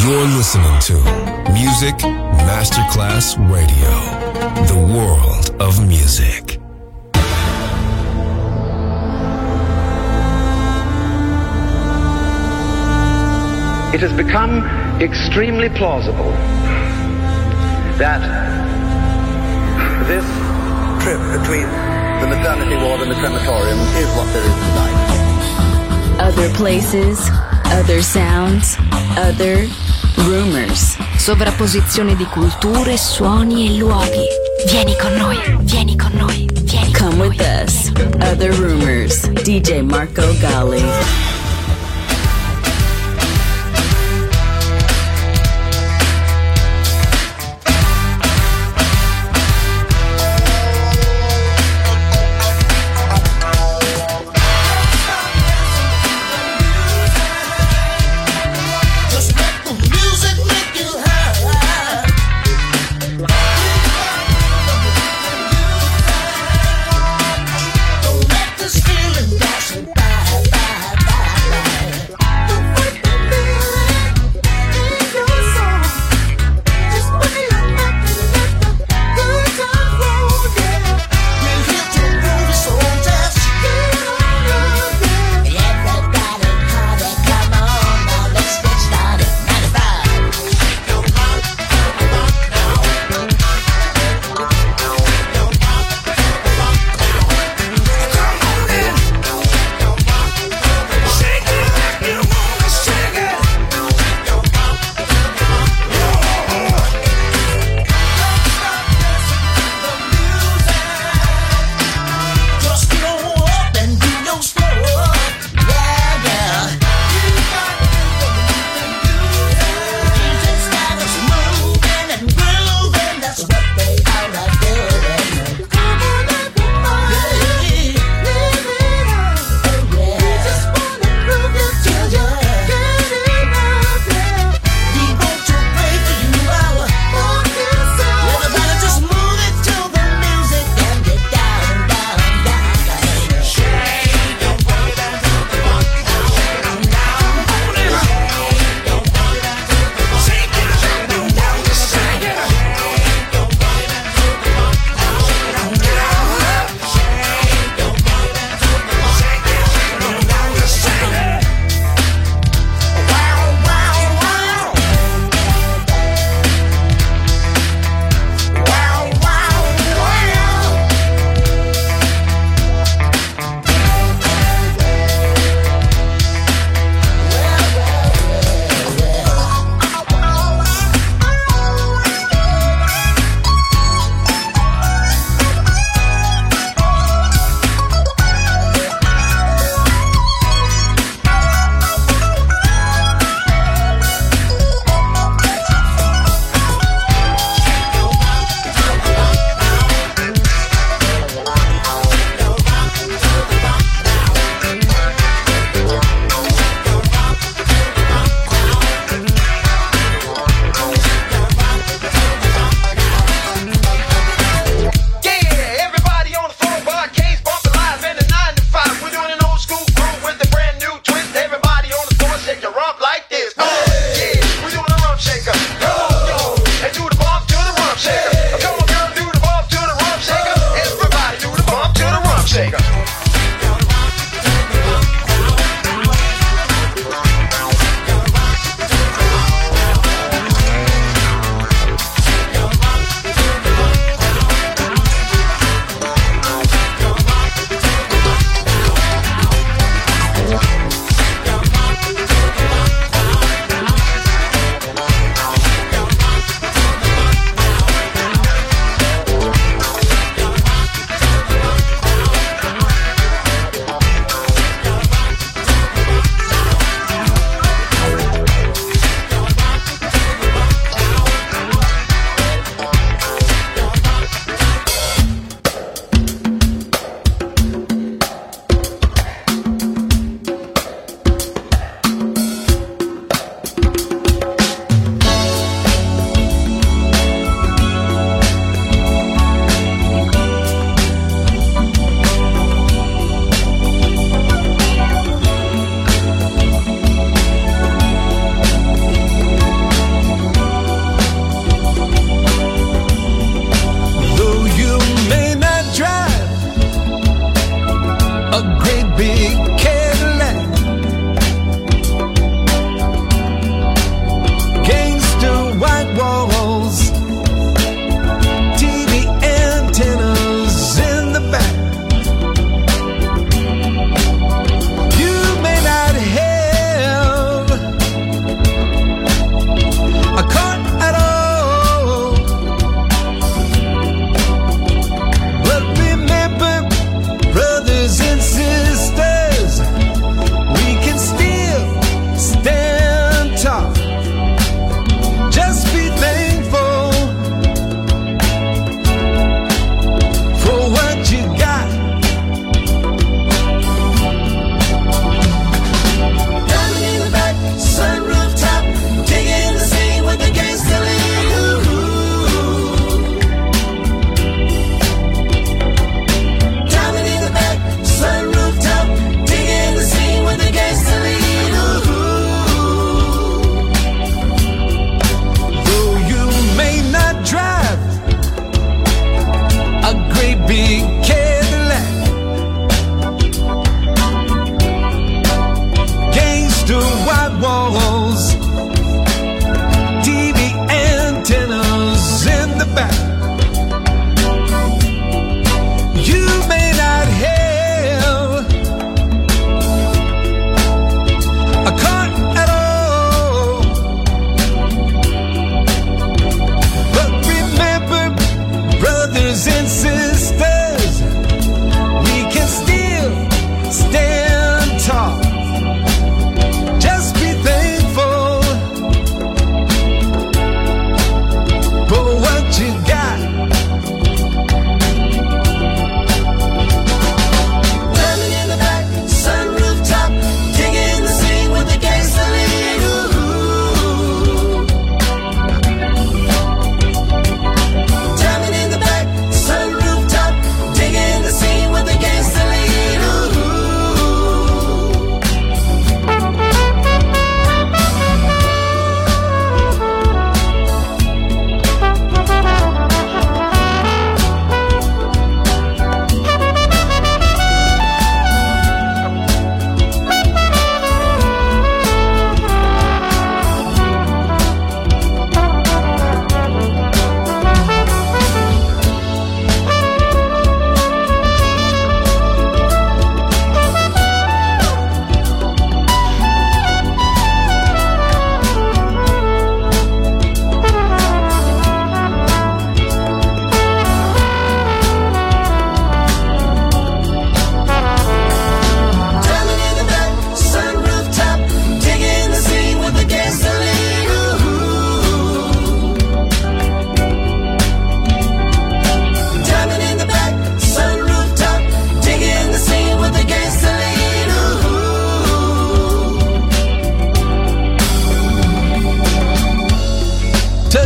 You're listening to Music Masterclass Radio, the world of music. It has become extremely plausible that this trip between the maternity ward and the crematorium is what there is tonight. Other places, other sounds, other rumors. Sovrapposizione di culture, suoni e luoghi. Vieni con noi, vieni con noi, vieni con Come noi. with us. Other rumors. DJ Marco Gally. Don't let this feeling pass me by.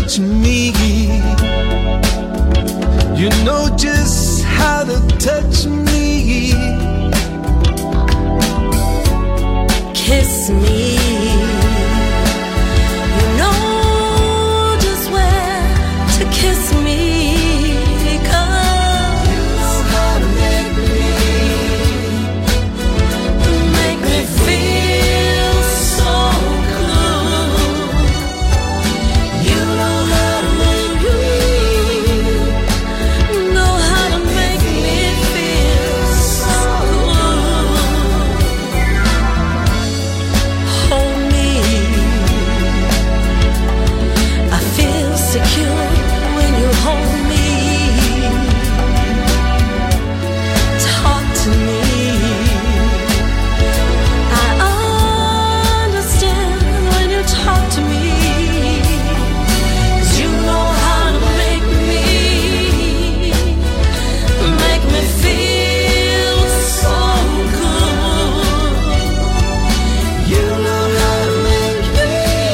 touch me. You know just how to touch me. Kiss me. You know just where to kiss me. 'Cause you know how to make me feel so good. You know how to make me feel so good. Hold me. I feel secure when you hold me. Talk to me. I understand when you talk to me. 'Cause you know how to make me feel so good. You know how to make me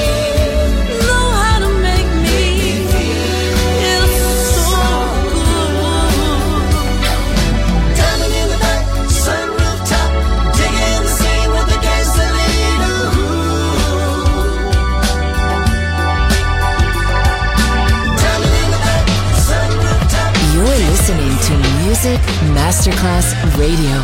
feel so good. Diamond in the back, sunroof top, digging the scene with the gasoline. Diamond in the back, sunroof top. You're listening to Music Masterclass Radio.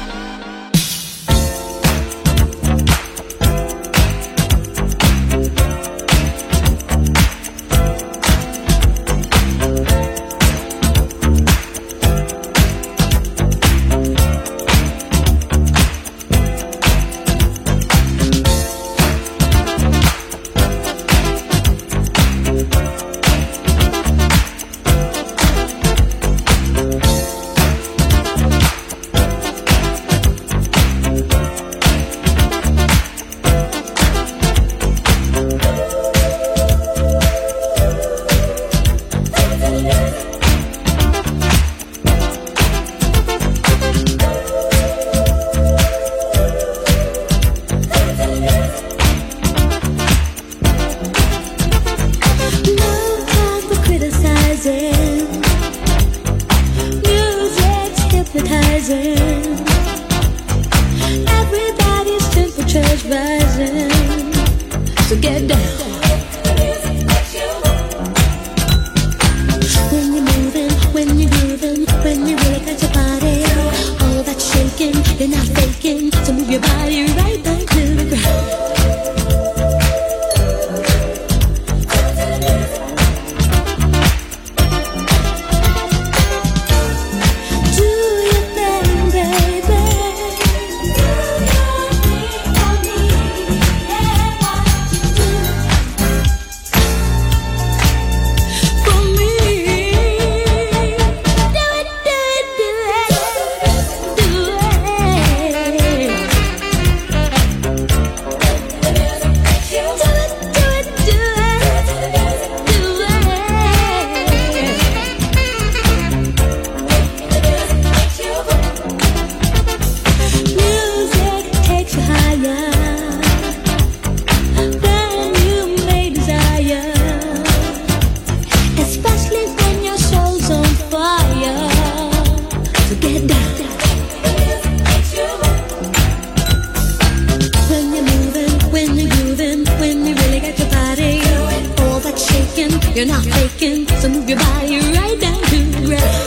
Everybody's temperature's rising. So get down. When you're moving, when you're grooving, when you really got your body, all that shaking, you're not faking. So move your body right back to the ground. You're not faking, so move your body right down to the ground.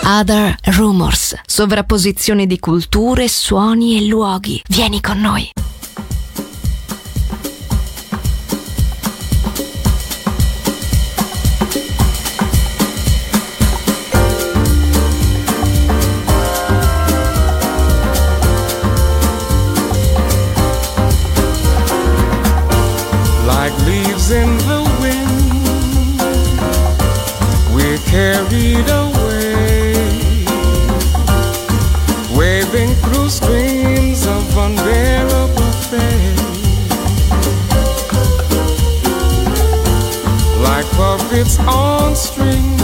Other Rumors, sovrapposizione di culture, suoni e luoghi. Vieni con noi. Like leaves in the wind, we're carried away, waving through streams of unbearable pain. Like puppets on strings,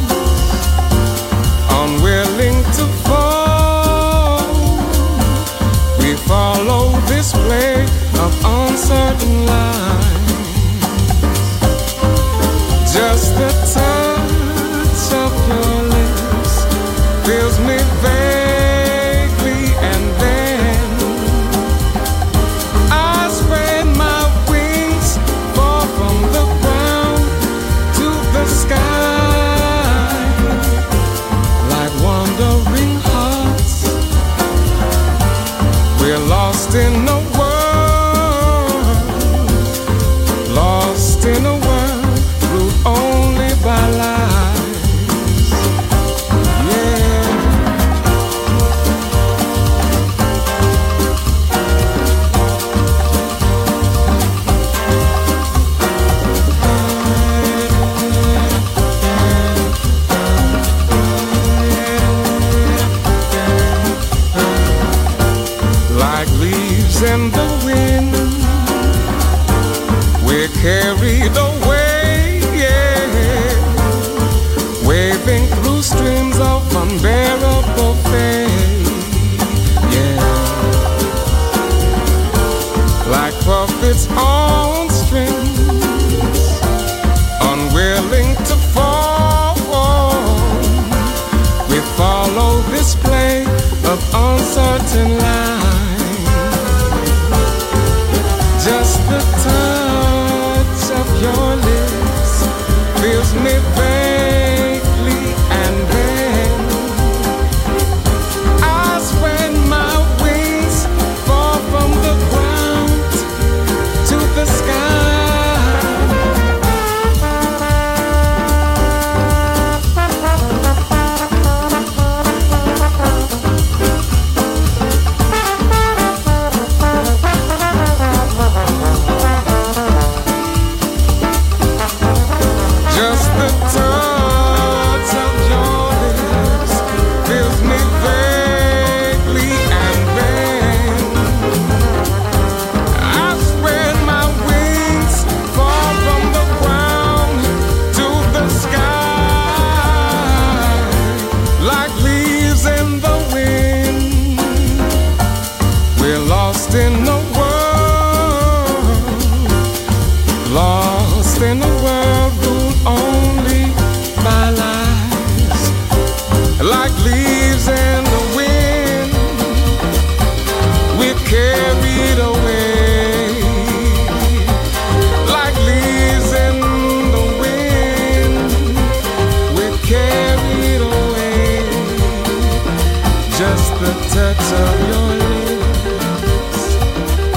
unwilling to fall, we follow this play of uncertain lines. Just the touch of your lips fills me vaguely, and then I spread my wings, fall from the ground to the sky. Like wandering hearts, we're lost in a world, lost in a world only by lies, yeah. Like leaves in the wind, we're carried away, waving through streams of unbearable pain, yeah. Like puppets on strings, unwilling to fall, we follow this play of uncertain lines. Just the touch of your lips fills me vaguely, and then I spread my wings, fall from the ground to the sky. Just the touch of your lips fills me vaguely, and then I spread my wings, fall from the ground to the sky. Like leaves in the wind, we're lost in the world, lost in the world ruled only by lies. Like leaves in the wind, we're carried away. Like leaves in the wind, we're carried away. Just the touch of your lips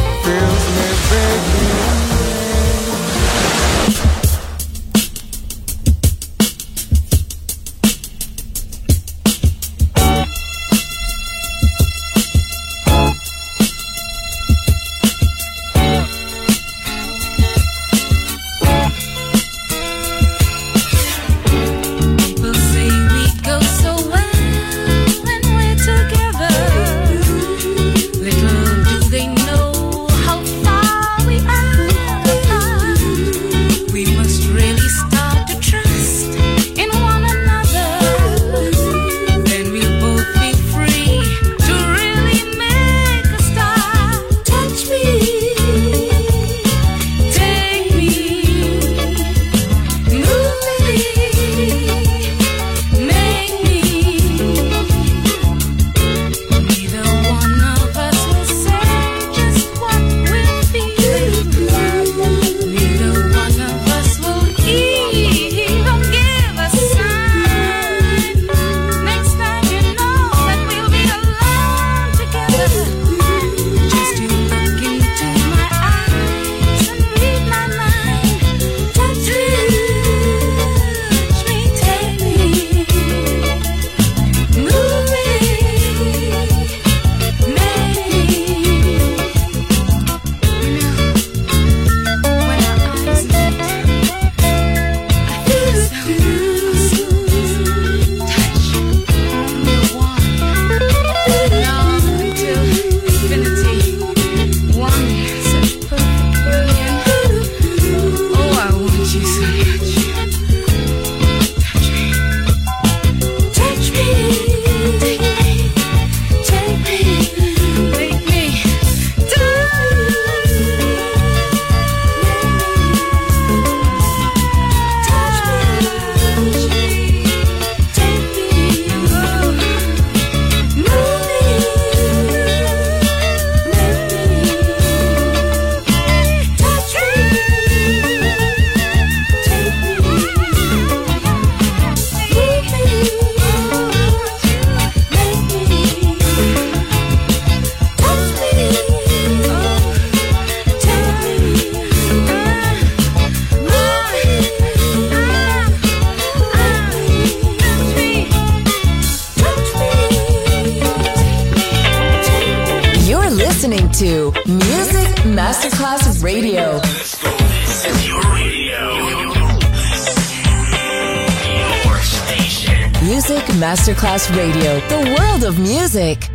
to Music Masterclass Radio. This is your radio. Your station. Music Masterclass Radio. The world of music.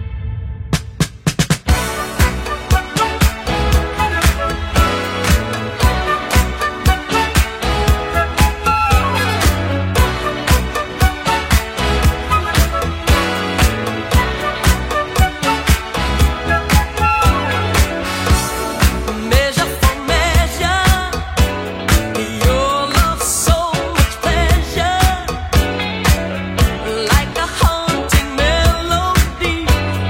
Like a haunting melody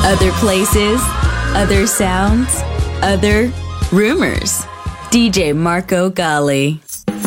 Other places, other sounds, other rumors. DJ Marco Gally.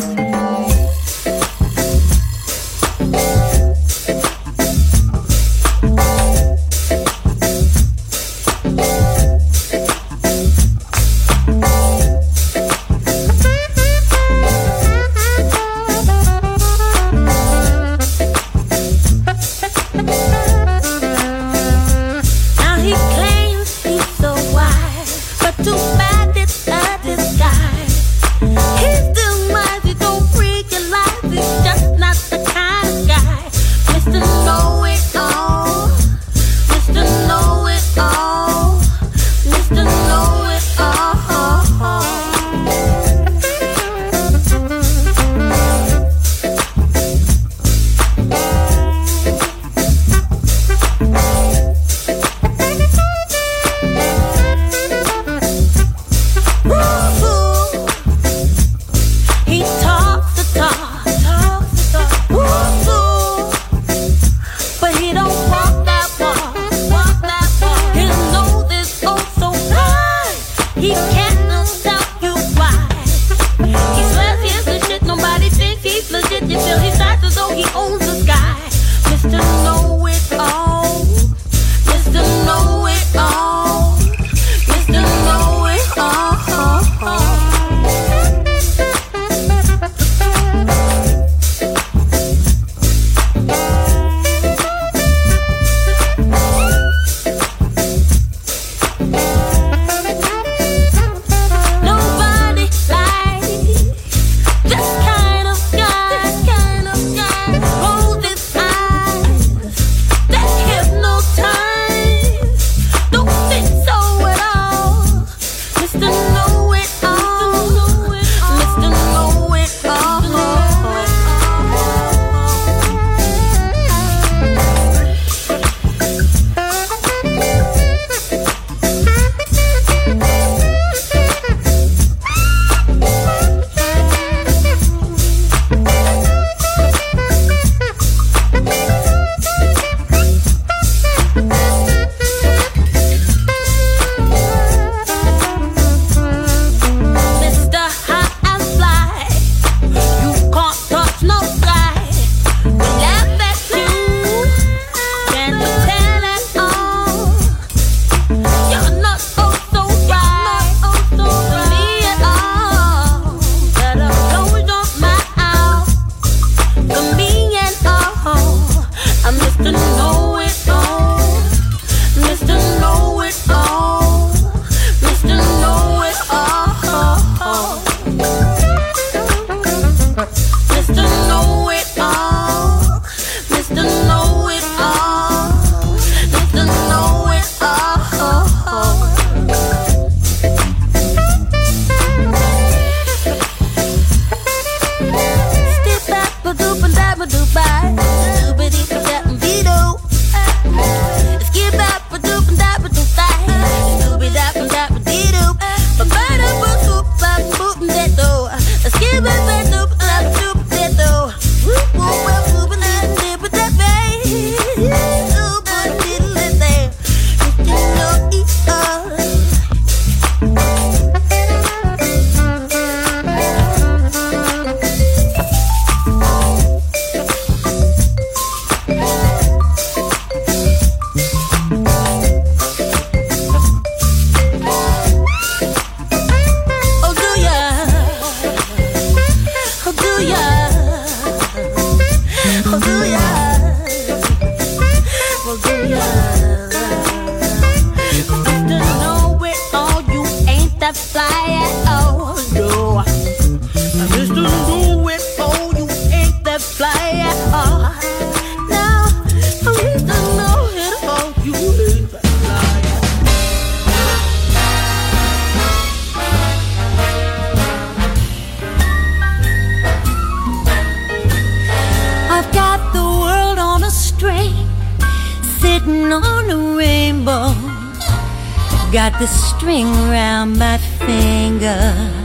Got the string around my finger.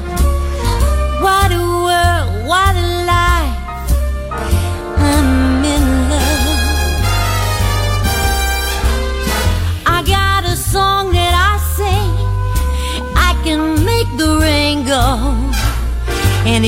What a world, what a life. I'm in love. I got a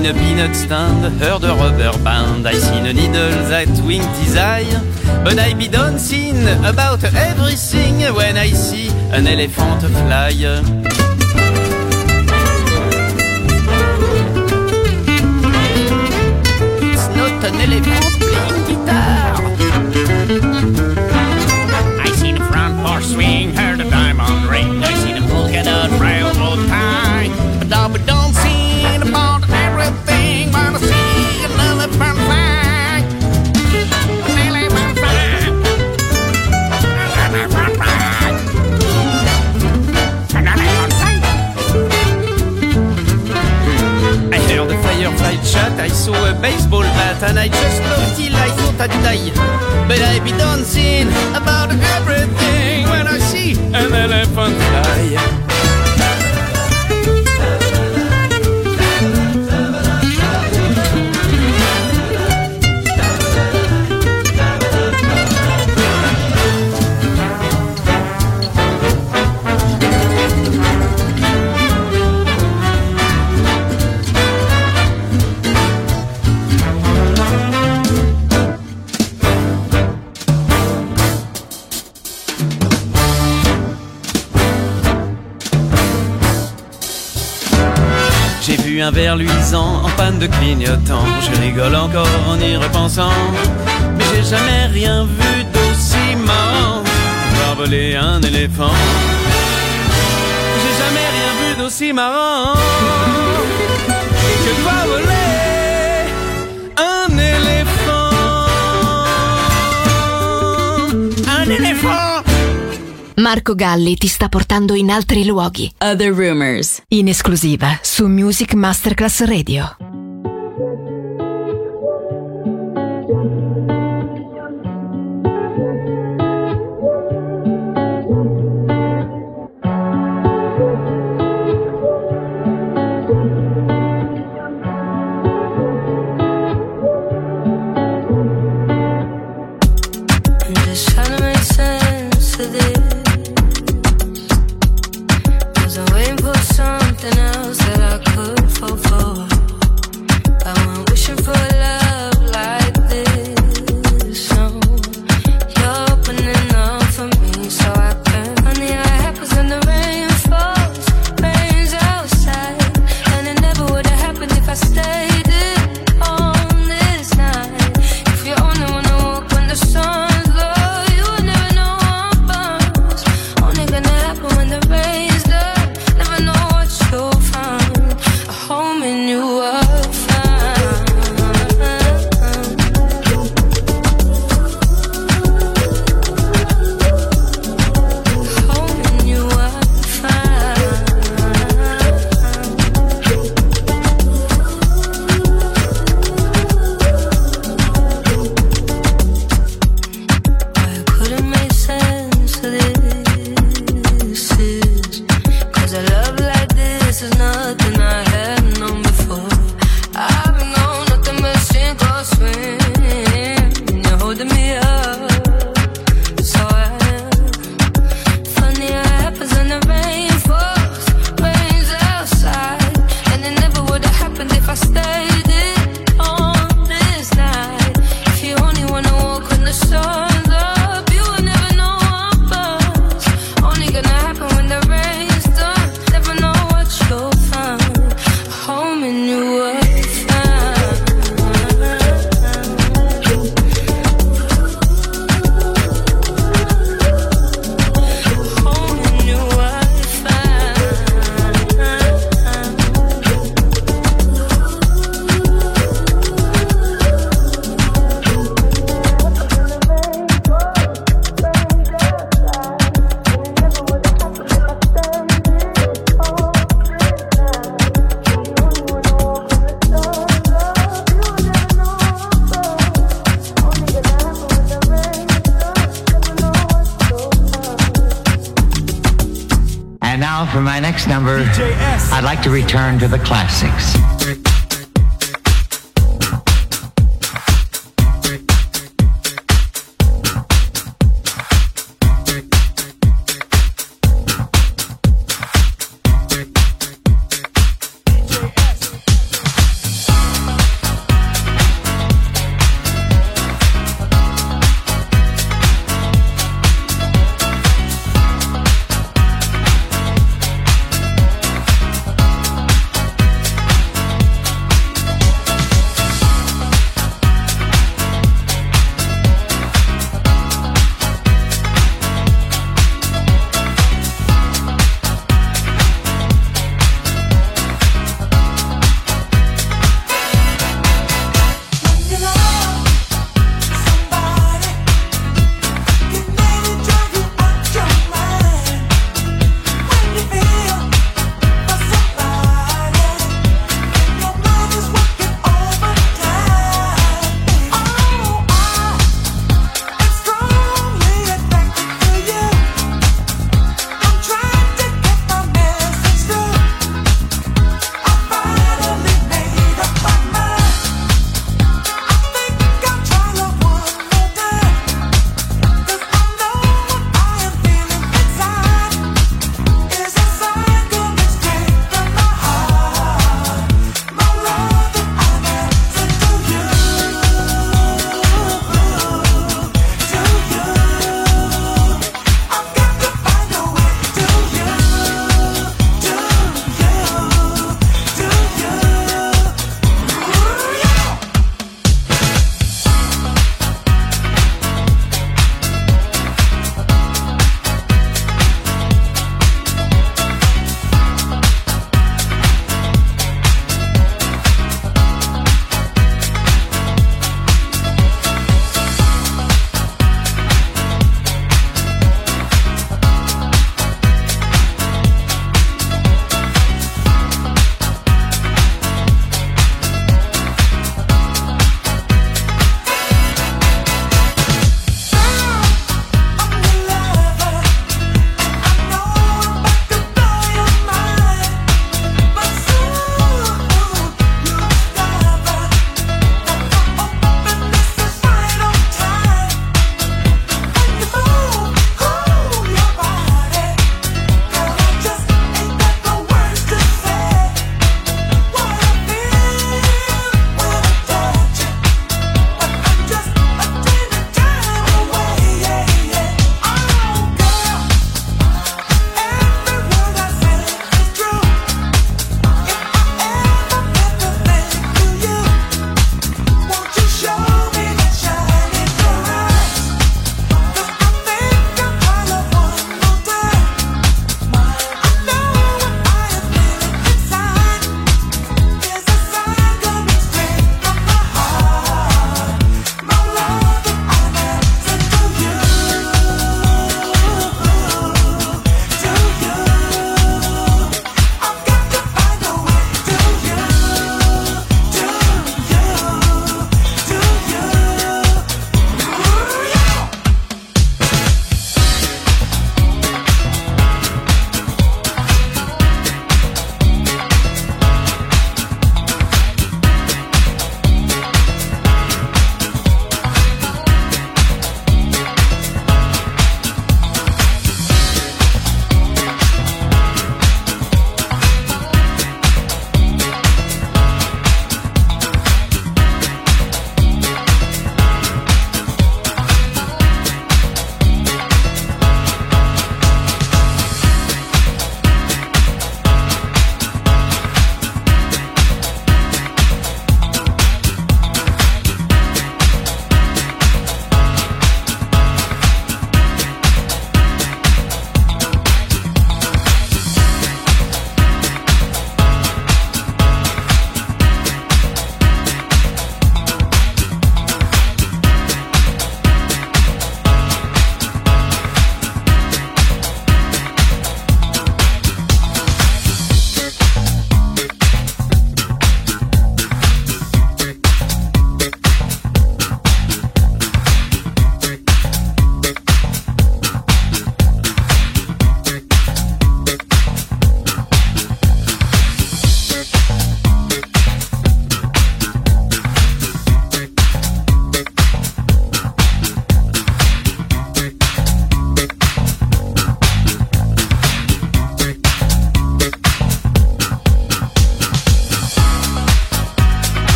seen a peanut stand, heard a rubber band. I seen a needle that winked his eye. But I be dancing about everything when I see an elephant fly. It's not an elephant playing guitar. I seen a front porch swing, heard a diamond ring. I seen a polka dot railroad tie. But I'll be dancing about everything when I see an elephant fly. An elephant fly. An elephant fly. An elephant fly. I heard a firefly chat, I saw a baseball bat, and I just loved till I thought I'd die. But I be dancing about everything when I see an elephant fly. J'ai vu un verre luisant en panne de clignotant. Je rigole encore en y repensant. Mais j'ai jamais rien vu d'aussi marrant. Voir voler un éléphant. J'ai jamais rien vu d'aussi marrant que de voir voler un éléphant. Un éléphant. Marco Galli ti sta portando in altri luoghi. Other Rumors. In esclusiva su Music Masterclass Radio. Something else that I could fall for. I went wishing for love like this. So you're opening up for me, so I can. Funny how it happens when the rain falls, rains outside, and it never would have happened if I stayed in on this night. If you only wanna walk when the sun's low, you would never know I'm bummed. Only gonna happen when the rain's done. Never know what you'll find. A home in you will find. A home in you will find. I couldn't make sense of this is 'cause a love like this is nothing I have known before. I've been on nothing but sink or swim. You're holding me up, so I am. Funny how it happens when the rain falls, rains outside, and it never would have happened if I stayed in on this night. If you only wanna walk when the sun's up, you will never know I'm buzzed. Only gonna happen when the rain's done. Never know what you'll find. A home in you will find. A home in you will find. And now for my next number, I'd like to return to the classics.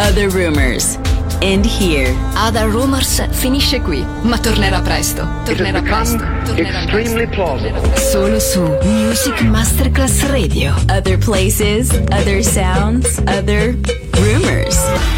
Other Rumors. End here. Other Rumors finisce qui, ma tornerà presto. Tornerà presto. Extremely plausible. Solo su Music Masterclass Radio. Other places, other sounds, other rumors.